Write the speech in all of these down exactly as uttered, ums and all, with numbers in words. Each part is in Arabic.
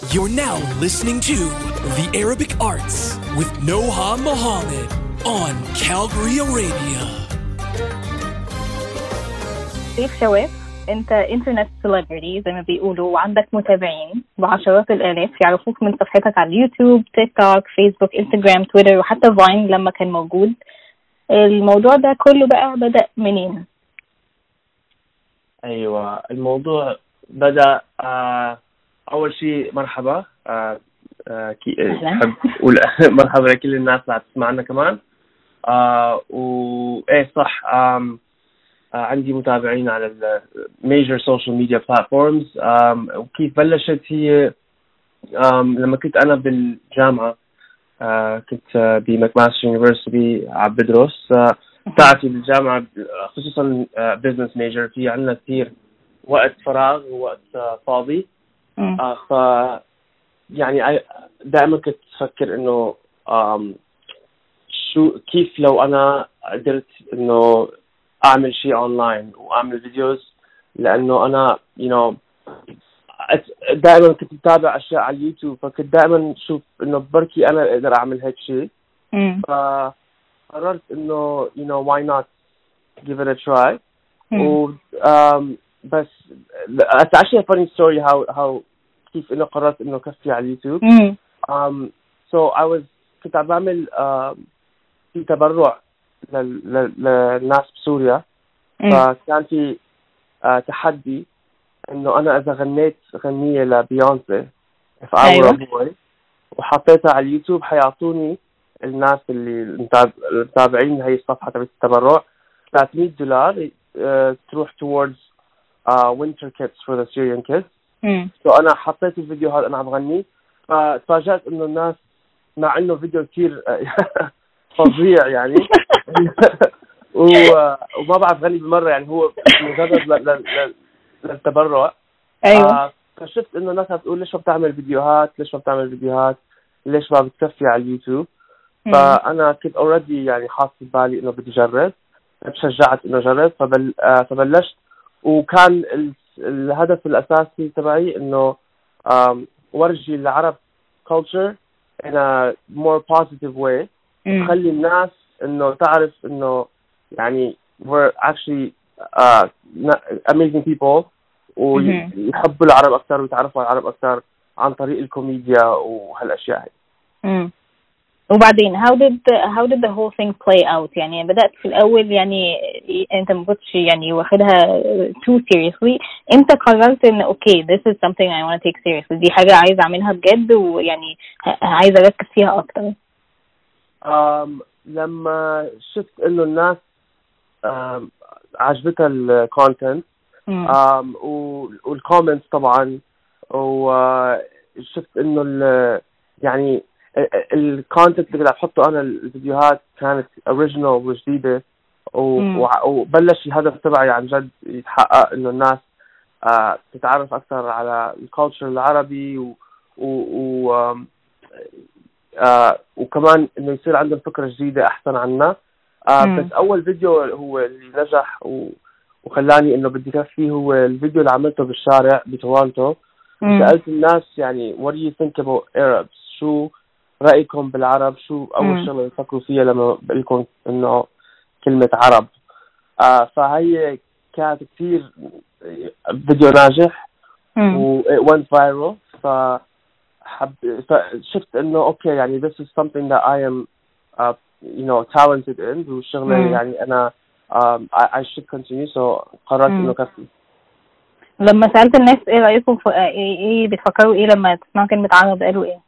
You're now listening to The Arabic Arts with Noha Mohammed on Calgary Arabia. سيف شواف، انت انترنت سيلبرتي زي ما بيقولوا، وعندك متابعين بعشرات الالاف يعرفوك من صفحتك على اليوتيوب، تيك توك، فيسبوك، انستجرام، تويتر، وحتى فاين لما كان موجود. الموضوع ده كله بقى بدأ منين؟ ايوه، الموضوع بدأ آه اول شيء مرحبا آه آه كي احب اقول مرحبا لكل الناس اللي تسمعنا كمان. آه وايه صح، آم آه عندي متابعين على الميجر سوشيال ميديا بلاتفورمز. وكيف بلشت هي آم لما كنت انا بالجامعه، آه كنت آه بماكماستر يونيفرسيتي عم بدرس. آه بتاعتي بالجامعه خصوصا آه بزنس ميجر، في عندنا كثير وقت فراغ ووقت آه فاضي. آه ف يعني دائما كنت افكر انه آم شو كيف لو انا قدرت انه اعمل شيء اونلاين واعمل فيديوز، لانه انا you know دائما كنت اتابع اشياء على اليوتيوب، فكنت دائما اشوف انه بركي انا اقدر اعمل هيك شيء. فقررت انه you know why not give it a try. و um, بس it's actually a funny story how how كيف انه قررت انه كفي على اليوتيوب. um so I was كنت عم بعمل uh, في تبرع للناس بسوريا. فكان في uh, تحدي انه انا اذا غنيت غنية لبيونسي if I were a boy وحطيتها على اليوتيوب، حيعطوني الناس اللي المتابعين هي الصفحة تبع التبرع ثلاثمية دولار uh, تروح towards uh, winter kits for the Syrian kids. سو so أنا حطيت الفيديو هذا أنا عم غني، فتفاجأت إنه الناس مع إنه فيديو كتير فظيع يعني وما بعرف غني بالمرة، يعني هو مجرد للتبرع. أيوة. فشفت إنه الناس بتقول ليش ما بتعمل فيديوهات، ليش ما بتعمل فيديوهات، ليش ما بتكفي على اليوتيوب. فأنا كنت أوريدي يعني حاطط بالي إنه بدي أجرب، تشجعت إنه أجرب. فبل فبلشت، وكان الهدف الأساسي تبعي إنه ورجي العرب culture in a more positive way، تخلي الناس إنه تعرف إنه يعني we're actually uh, amazing people، ويحبوا العرب أكثر ويتعرفوا على العرب أكثر عن طريق الكوميديا وهالأشياء هاي. وبعدين how did how did the whole thing play out؟ يعني بدأت في الأول يعني أنت ما كنتش يعني واخدها too seriously، أنت قررت إن okay this is something I want to take seriously، دي حاجة عايز أعملها بجد ويعني عايز أركز فيها أكتر. um, لما شفت إنه الناس um, عجبتها الكونتنت um, والكومنتس طبعا، وشفت إنه يعني الكونتنت اللي قاعد احطه انا الفيديوهات كانت اوريجينال وجديده، وبلش الهدف تبعي عن جد يتحقق، انه الناس آه تتعرف اكثر على الكالتشر العربي و, و, و آه وكمان انه يصير عندهم فكره جديده احسن عنا. آه بس اول فيديو هو اللي نجح وخلاني انه بدي كفي هو الفيديو اللي عملته بالشارع بتورونتو. سالت الناس يعني what do you think about Arabs، شو رأيكم بالعرب، شو أول شغلة يفكروا فيها لما بقولكم إنه كلمة عرب. آه فهي كانت كتير فيديو ناجح و it went viral. فحب فشفت إنه أوكي يعني this is something that I am uh, you know talented in، والشغلة يعني أنا um, I, I should continue. so قررت إنه كفي. لما سألت الناس إيه رأيكم في إيه, إيه بتفكروا إيه لما تسمعوا كلمة عرب، قالوا إيه؟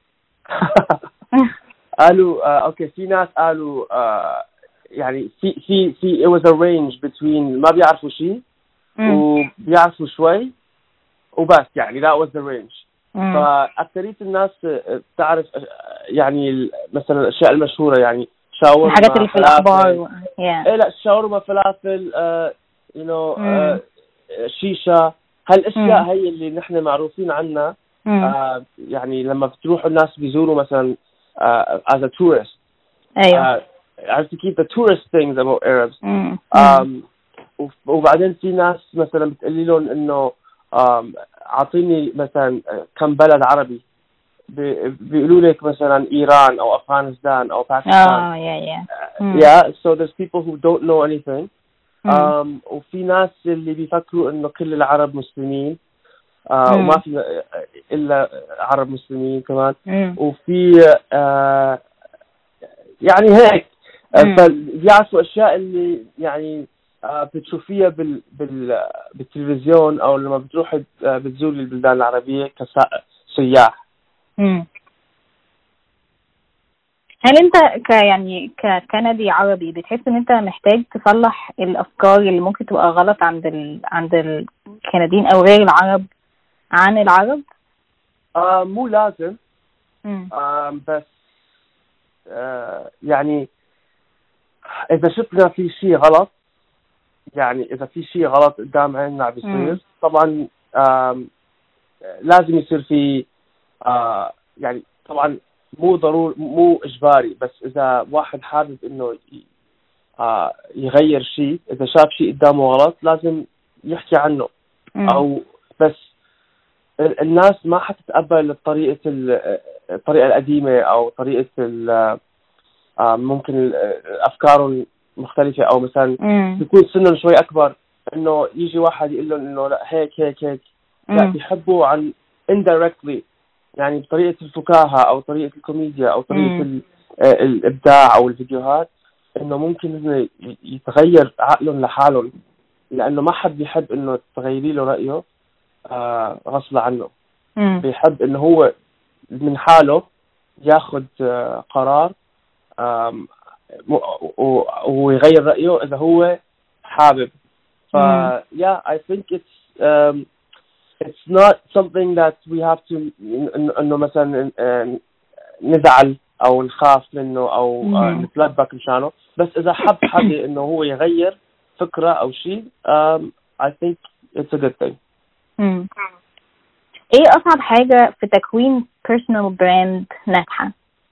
قالوا آه اوكي، في ناس قالوا آه يعني في في في it was a range between ما بيعرفوا شيء وبيعرفوا شوي وبس، يعني that was the range. فأكثرية الناس بتعرف يعني مثلا الأشياء المشهورة، يعني شاورما، الحاجات اللي في الأخبار. إيه لا شاورما، فلافل، آه you know آه شيشة، هالأشياء هي اللي نحن معروفين عنها. آه يعني لما بتروحوا الناس بيزوروا مثلا آه as a tourist. أيوة. آه عرفتي كيف the tourist things about Arabs. مم. um, وبعدين في ناس مثلا بتقولي لهم إنه اعطيني مثلا كم بلد عربي بيقولوا لك مثلا إيران أو أفغانستان أو باكستان. Oh yeah yeah. Mm. Yeah, so there's people who don't know anything. Mm. Um, وفي ناس اللي بيفكروا إنه كل العرب مسلمين. Uh, mm. وما في إلا عرب مسلمين كمان. mm. وفي uh, يعني هيك mm. فبيعرفوا أشياء اللي يعني uh, بتشوفيها بال بال بالتلفزيون أو لما بتروح uh, بتزور البلدان العربية كسياح. مم. هل انت ك يعني ككندي عربي بتحس ان انت محتاج تصلح الافكار اللي ممكن تبقى غلط عند ال... عند الكنديين او غير العرب عن العرب؟ آه مو لازم. آه بس آه يعني اذا شفنا في شيء غلط، يعني اذا في شيء غلط قدام عيننا بيصير طبعا آه لازم يصير في آه يعني طبعا مو ضروري مو إجباري، بس إذا واحد حابب إنه آه يغير شيء، إذا شاف شيء قدامه غلط لازم يحكي عنه. م. أو بس الناس ما حتتقبل الطريقة الطريقة القديمة أو طريقة آه ممكن أفكارهم مختلفة، أو مثلا يكون سنهم شوي أكبر إنه يجي واحد يقول لهم إنه لا هيك هيك هيك، لا بيحبوا عن indirectly يعني بطريقة الفكاهة أو طريقة الكوميديا أو طريقة م. الإبداع أو الفيديوهات، إنه ممكن إنه يتغير عقلهم لحالهم، لأنه ما حد بيحب إنه تغيري له رأيه آه غصب عنه. م. بيحب إنه هو من حاله ياخد آه قرار آه ويغير رأيه إذا هو حابب. ف yeah I think it's um, it's not something that we have to إنه مثلا نزعل أو نخاف منه أو نتلبك مشانه، بس إذا حب حدا إنه هو يغير فكرة أو شيء um, I think it's a good thing. مم. إيه أصعب حاجة في تكوين personal brand ناجحة؟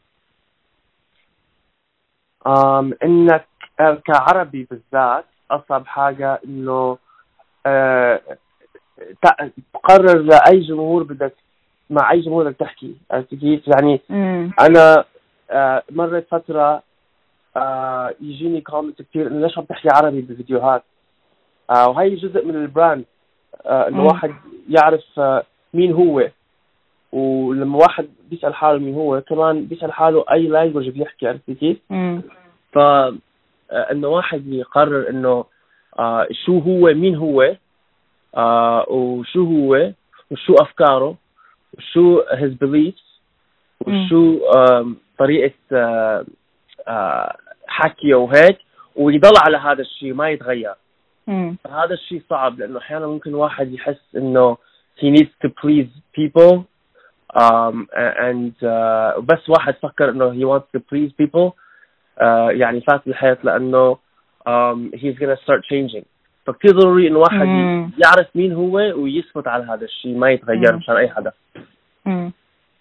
um, إنك كعربي بالذات أصعب حاجة إنه uh, تقرر لأي جمهور بدك مع أي جمهور بدك تحكي. كيف يعني مم. أنا آه مرت فترة آه يجيني كومنت كتير إنه ليش عم تحكي عربي بالفيديوهات، آه وهي جزء من البراند آه إنه واحد يعرف آه مين هو، ولما واحد بيسأل حاله مين هو كمان بيسأل حاله أي لانجوج بيحكي. عرفتي كيف؟ ف آه إنه واحد يقرر إنه آه شو هو مين هو آه وشو هو وشو أفكاره وشو his beliefs وشو آه طريقة آه آه حكيه وهيك، ويضل على هذا الشيء ما يتغير. مم. هذا الشيء صعب لأنه أحيانا ممكن واحد يحس إنه he needs to please people um, and uh, بس واحد فكر إنه he wants to please people uh, يعني فات الحياة لأنه um, he's gonna start changing. فكتير ضروري إنه واحد مم. يعرف مين هو ويثبت على هذا الشيء ما يتغير مشان أي حدا. مم.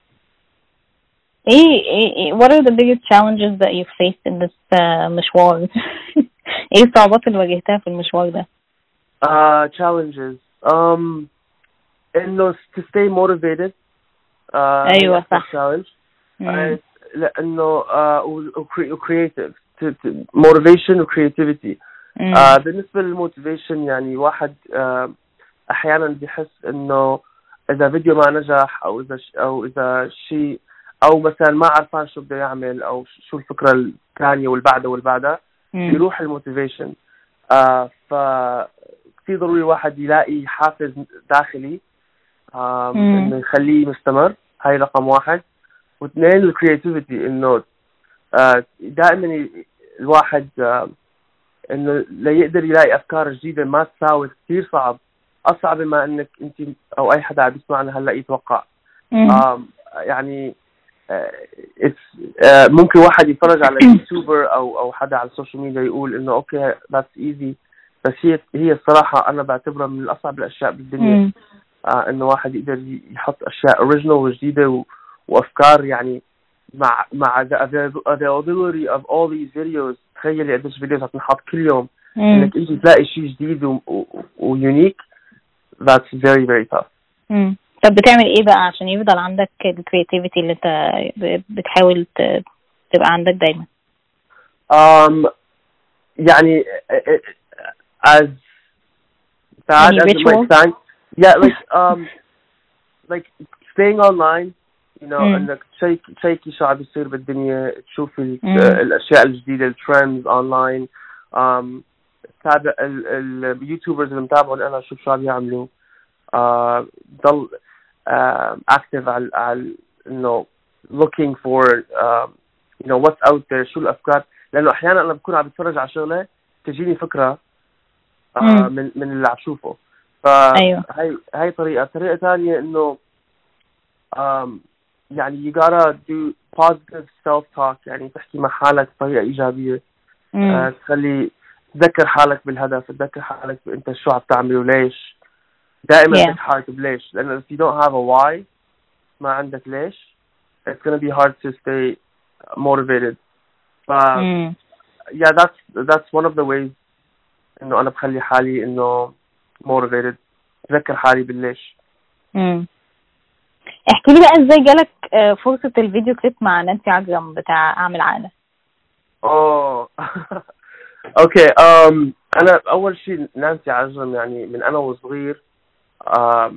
إيه what are the biggest challenges that you faced in this uh, مشوار؟ إيه الصعوبات اللي واجهتها في المشوار ده؟ Uh, challenges um إنه to stay motivated. Uh, أيوة صح. challenge. Uh, لأنه uh, و creative to, to motivation و creativity. Uh, بالنسبة للموتيفيشن يعني واحد uh, أحيانا بيحس إنه إذا فيديو ما نجح أو إذا ش أو إذا شيء أو مثلا ما عرفان شو بده يعمل أو شو الفكرة الثانية والبعدة والبعدة يروح الموتيفيشن. آه فكتير ضروري واحد يلاقي حافز داخلي آه إنه يخليه مستمر. هاي رقم واحد. واثنين الكرياتيفيتي إنه آه دائما الواحد آه إنه لا يقدر يلاقي أفكار جديدة ما تساوي كتير صعب، أصعب ما إنك أنت أو أي حدا عم يسمعنا هلا يتوقع. آه يعني uh, ممكن واحد يتفرج على يوتيوبر او او حدا على السوشيال ميديا يقول انه اوكي that's easy، بس هي هي الصراحه انا بعتبرها من الاصعب الاشياء بالدنيا. آه انه واحد يقدر يحط اشياء اوريجينال وجديده و... وافكار يعني مع مع the availability of all these videos. تخيلي قديش فيديوهات هتنحط كل يوم انك انت تلاقي شيء جديد ويونيك. that's very very tough. امم طب بتعمل ايه بقى عشان يفضل عندك الكرياتيفيتي اللي انت بتحاول تبقى عندك دايما؟ um يعني as bad as it might sound, yeah, like um like staying online, you know, mm. انك تشيك تشيكي شو عم بيصير بالدنيا، تشوفي mm. الاشياء الجديده، الترندز اونلاين، um تابع اليوتيوبرز اللي متابعهم انا، شوف شو عم يعملوا، uh, ضل uh, active على على انه looking for uh, you know what's out there، شو الافكار، لانه احيانا انا بكون عم بتفرج على شغله تجيني فكره uh, من من اللي عم شوفه. فهي هاي طريقه طريقه ثانيه انه um, يعني you gotta do positive self talk، يعني تحكي مع حالك بطريقه ايجابيه، uh, تخلي تذكر حالك بالهدف، تذكر حالك انت شو عم تعمل وليش، دائما تذكر yeah. حالك بليش، لأنه if you don't have a why، ما عندك ليش، it's gonna be hard to stay motivated. ف mm. yeah that's that's one of the ways إنه أنا بخلي حالي إنه motivated، تذكر حالي بالليش. امم احكي لي بقى ازاي جالك فرصة الفيديو كليب مع نانسي عجرم بتاع أعمل عقلة؟ اوه اوكي um أنا أول شيء نانسي عجرم يعني من أنا وصغير، um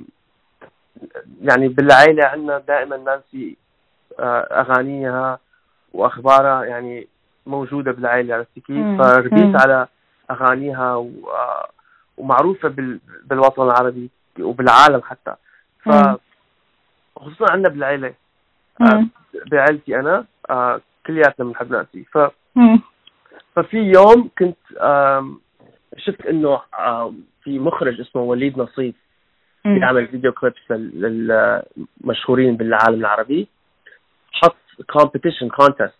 يعني بالعائلة عندنا دائما نانسي أغانيها وأخبارها يعني موجودة بالعائلة، عرفتي كيف؟ فربيت على أغانيها و... ومعروفة بال... بالوطن العربي وبالعالم حتى. ف خصوصا عندنا بالعائلة، بعائلتي أنا كلياتنا بنحب نانسي. ف ففي يوم كنت شفت إنه في مخرج اسمه وليد نصيف بيعمل فيديو كليبس للمشهورين بالعالم العربي، حط كومبيتيشن كونتست،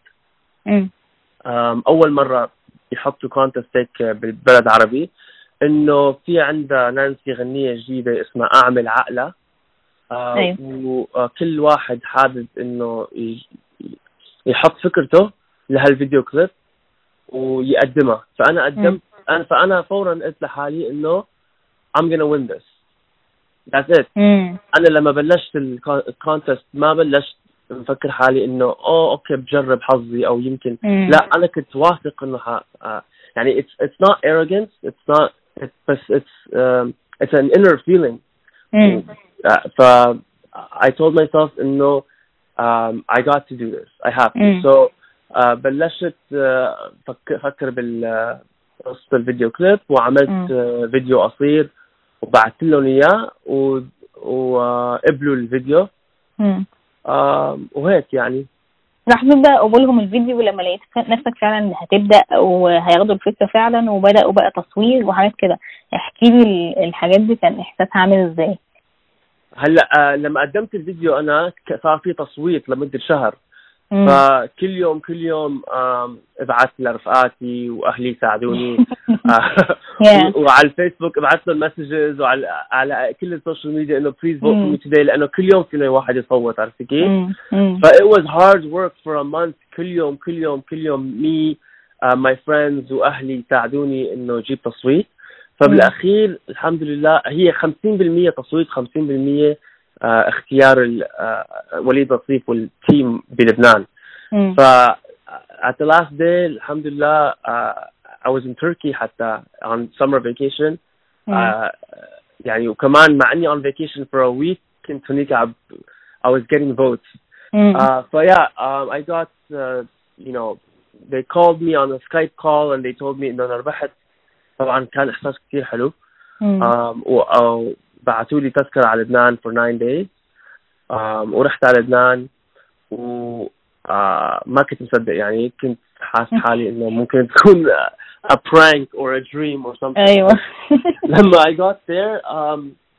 أول مرة يحطوا كونتست هيك بالبلد عربي، إنه في عندها نانسي غنية جديدة اسمها أعمل عقلة، آه وكل واحد حابب إنه يحط فكرته لهالفيديو كليب ويقدمها. فأنا قدمت أنا فأنا فورا قلت لحالي إنه I'm gonna win this. That's it. مم. أنا لما بلشت الكونتست ما بلشت مفكر حالي إنه أوه أوكي بجرب حظي أو يمكن مم. لا، أنا كنت واثق إنه ح... يعني it's it's not arrogance, it's not it's but it's um, it's an inner feeling. مم. ف I told myself إنه um, I got to do this, I have to. مم. so uh, بلشت uh, فكر فكر بال قصة الفيديو كليب، وعملت uh, فيديو قصير وبعثت لهم إياه وقبلوا الفيديو. امم آه وهيك يعني راح نبدأ قبولهم الفيديو، ولما لقيت نفسك فعلا هتبدأ وهياخدوا الفكرة فعلا وبدأوا بقى تصوير وحاجات كده، احكي لي الحاجات دي كان إحساسها عامل إزاي؟ هلا آه لما قدمت الفيديو أنا صار في تصويت لمدة شهر. مم. فكل يوم كل يوم ابعث لرفقاتي واهلي ساعدوني yeah. وعلى الفيسبوك ابعث لهم مسجز، وعلى على كل السوشيال ميديا انه بليز فوت فور مي توداي، لانه كل يوم فينا واحد يصوت، عرفتي كيف؟ ف it was hard work for a month. كل يوم كل يوم كل يوم مي uh, my friends واهلي ساعدوني انه اجيب تصويت. فبالاخير الحمد لله هي خمسين بالمية تصويت، خمسين بالمية Uh, اختيار uh, وليد نصيف والتيم بلبنان. ف uh, at the last day الحمد لله uh, I was in Turkey حتى on summer vacation. uh, يعني وكمان مع اني on vacation for a week كنت هناك I was getting votes. uh, so yeah um, I got uh, you know they called me on a Skype call and they told me انه انا ربحت. طبعا كان احساس كثير حلو. um, و uh, بعثوا لي تذكرة على لبنان for nine days. um, ورحت على لبنان وما uh, كنت مصدق، يعني كنت حاسس حالي إنه ممكن تكون a prank or a dream or something. أيوة. لما I got there um,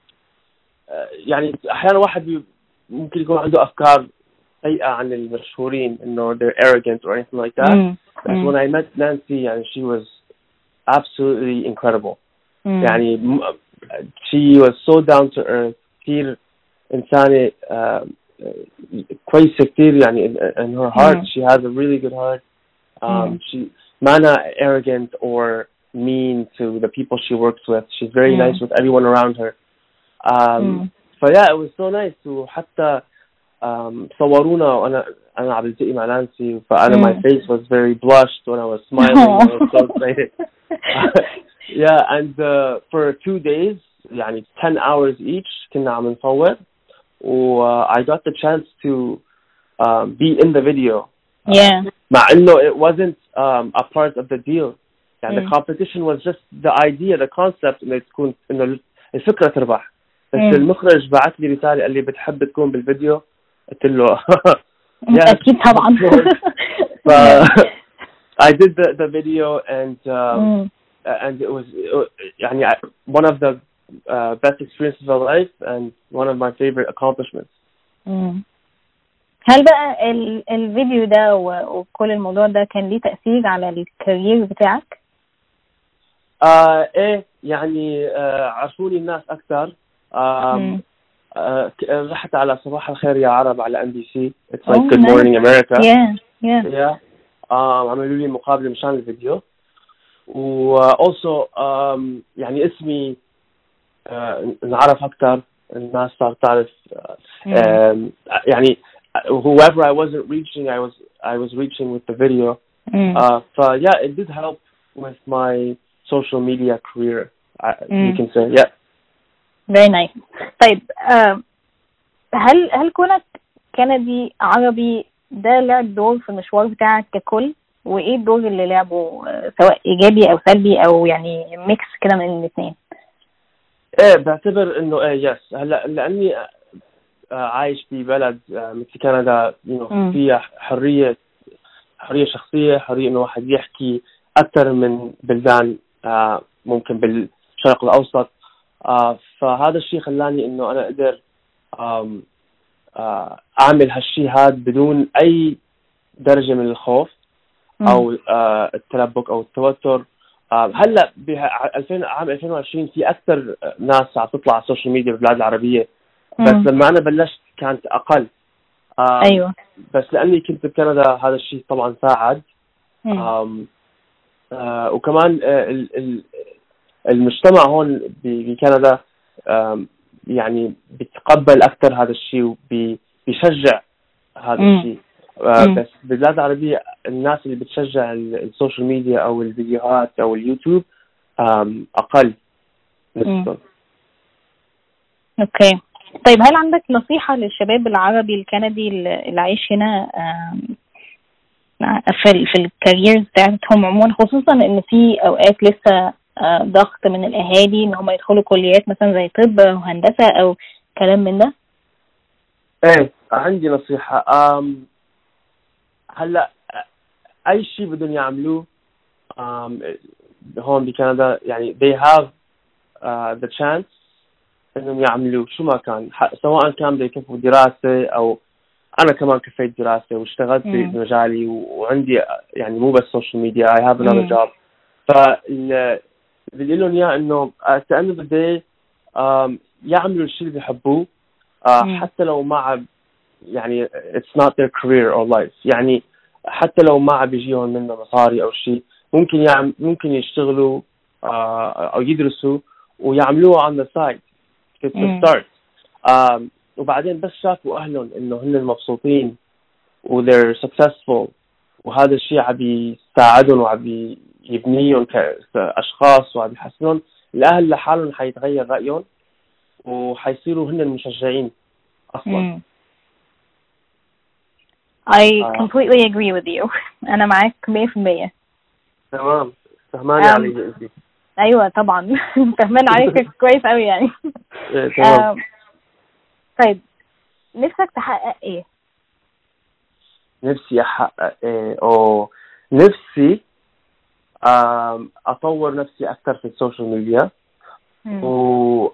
uh, يعني أحيانا واحد ممكن يكون عنده أفكار سيئة عن المشهورين إنه they're arrogant or anything like that. mm. But mm. when I met Nancy يعني she was absolutely incredible. mm. يعني she was so down to earth، كتير إنسانة uh, كويسة كتير يعني in her heart. mm. She has a really good heart. um, mm. She not arrogant or mean to the people she works with. She's very mm. nice with everyone around her. um, فيا it was so nice. وحتى um, صورونا وأنا أنا عم بلتقي مع نانسي فأنا my face was very blushed when I was smiling. I was so excited. Yeah, and uh, for two days يعني ten hours each كنا عم نصور و uh, I got the chance to um, be in the video. Yeah. مع إنه it wasn't um, a part of the deal. يعني mm. the competition was just the idea, the concept إنه تكون إنه الفكرة تربح. بس mm. المخرج بعت لي رسالة قال لي بتحب تكون بالفيديو؟ قلت له أكيد طبعا. ف I did the the video and um, mm. and it was يعني one of the uh, best experiences of my life and one of my favorite accomplishments. mm. هل بقى ال الفيديو ده وكل الموضوع ده كان ليه تأثير على الكارير بتاعك؟ آه إيه يعني آه عرفوني الناس أكثر. آه آه رحت على صباح الخير يا عرب على إم بي سي. It's like oh, Good nice. Morning America. Yeah, yeah. Yeah. آه عملوا لي مقابلة مشان الفيديو. و also um, يعني اسمي آه نعرف أكثر. الناس صار تعرف آه mm. يعني whoever I wasn't reaching, I was I was reaching with the video. Mm. Uh, so yeah, it did help with my social media career. Mm. You can say, yeah. Very nice. طيب uh, هل هل كونك كندي عربي ده لعب دور في المشوار بتاعك ككل؟ وإيه الدور اللي لعبه سواء إيجابي أو سلبي أو يعني ميكس كده من الاثنين؟ إيه بعتبر إنه إيه يس هلا لأني عايش في بلد مثل كندا فيها حرية حرية شخصية، حرية إنه واحد يحكي أكثر من بلدان ممكن بالشرق الأوسط. فهذا الشيء خلاني إنه أنا أقدر أعمل هالشيء هذا بدون أي درجة من الخوف أو التلبك أو التوتر. هلا عام ألفين وعشرين في أكثر ناس عم تطلع على السوشيال ميديا بالبلاد العربية. بس مم. لما أنا بلشت كانت أقل. آه أيوة. بس لأني كنت بكندا هذا الشيء طبعا ساعد. آم آه وكمان آه المجتمع هون بكندا يعني بيتقبل أكثر هذا الشيء وبيشجع هذا الشيء. آه بس بالبلاد العربية الناس اللي بتشجع السوشيال ميديا أو الفيديوهات أو اليوتيوب أقل نسبة. أوكي. طيب هل عندك نصيحة للشباب العربي الكندي اللي عايش هنا في في الكاريرز بتاعتهم عموما، خصوصا ان في اوقات لسه ضغط من الاهالي ان هم يدخلوا كليات مثلا زي طب وهندسة او كلام من ده؟ ايه عندي نصيحة. أم هلا اي شيء بدهم يعملوه هون بكندا يعني they have uh, the chance انهم يعملوا شو ما كان، سواء كان بيكفوا دراسة او انا كمان كفيت دراسة واشتغلت في مجالي وعندي يعني مو بس سوشيال ميديا I have another job. فاللي بدي لهم اياه انه at the end of the day يعملوا الشيء اللي بيحبوه حتى لو ما يعني it's not their career or life. يعني حتى لو ما بيجيهم منه مصاري او شيء ممكن يعمل ممكن يشتغلوا او يدرسوا ويعملوه on the side to start. um, وبعدين بس شافوا أهلهم إنه هن مبسوطين و they're successful وهذا الشيء عم يساعدهم وعم يبنيهم كأشخاص وعم يحسنون، الأهل لحالهم حيتغير رأيهم وحيصيروا هن المشجعين أصلاً. I completely agree with you. أنا معاك مية في المية. تمام. فهماني علي أنت؟ أيوة طبعا فهمان عليك كويس أوي يعني. تمام. طيب نفسك تحقق إيه؟ نفسي أحقق إيه؟ أو نفسي أطور نفسي أكثر في السوشيال ميديا و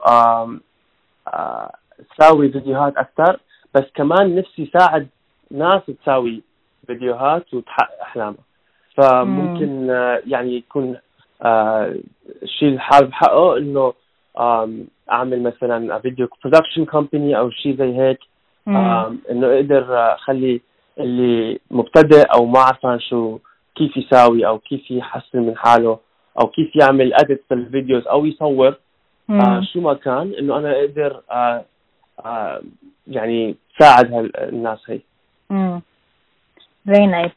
أسوي فيديوهات أكثر، بس كمان نفسي ساعد ناس تسوي فيديوهات وتحقق أحلامها. فممكن يعني يكون الشيء اللي حابب حقه إنه أعمل مثلا فيديو برودكشن كومباني أو شيء زي هيك، إنه أقدر أخلي اللي مبتدئ أو ما عارفان شو كيف يساوي أو كيف يحسن من حاله أو كيف يعمل أديت في الفيديوز أو يصور آه شو ما كان إنه أنا أقدر آه آه يعني ساعد هالناس هاي. Mm. Very nice.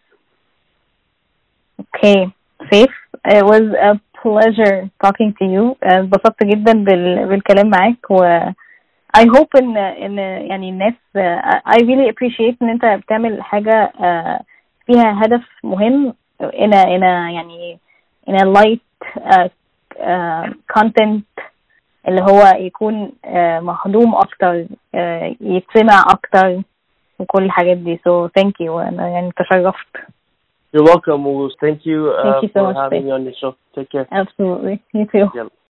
Okay, Saif, it was a pleasure talking to you. انبسطت جدا بال... بالكلام معاك و I hope إن إن يعني الناس uh, I really appreciate إن أنت بتعمل حاجة uh, فيها هدف مهم in a in a يعني in a light uh, uh, content اللي هو يكون uh, مخدوم أكتر uh, يتسمع أكتر وكل الحاجات دي. So thank you. أنا يعني تشرفت. You're welcome. Thank you, uh, thank you so for much, having me on the show. Take care. Absolutely. You too. Yeah.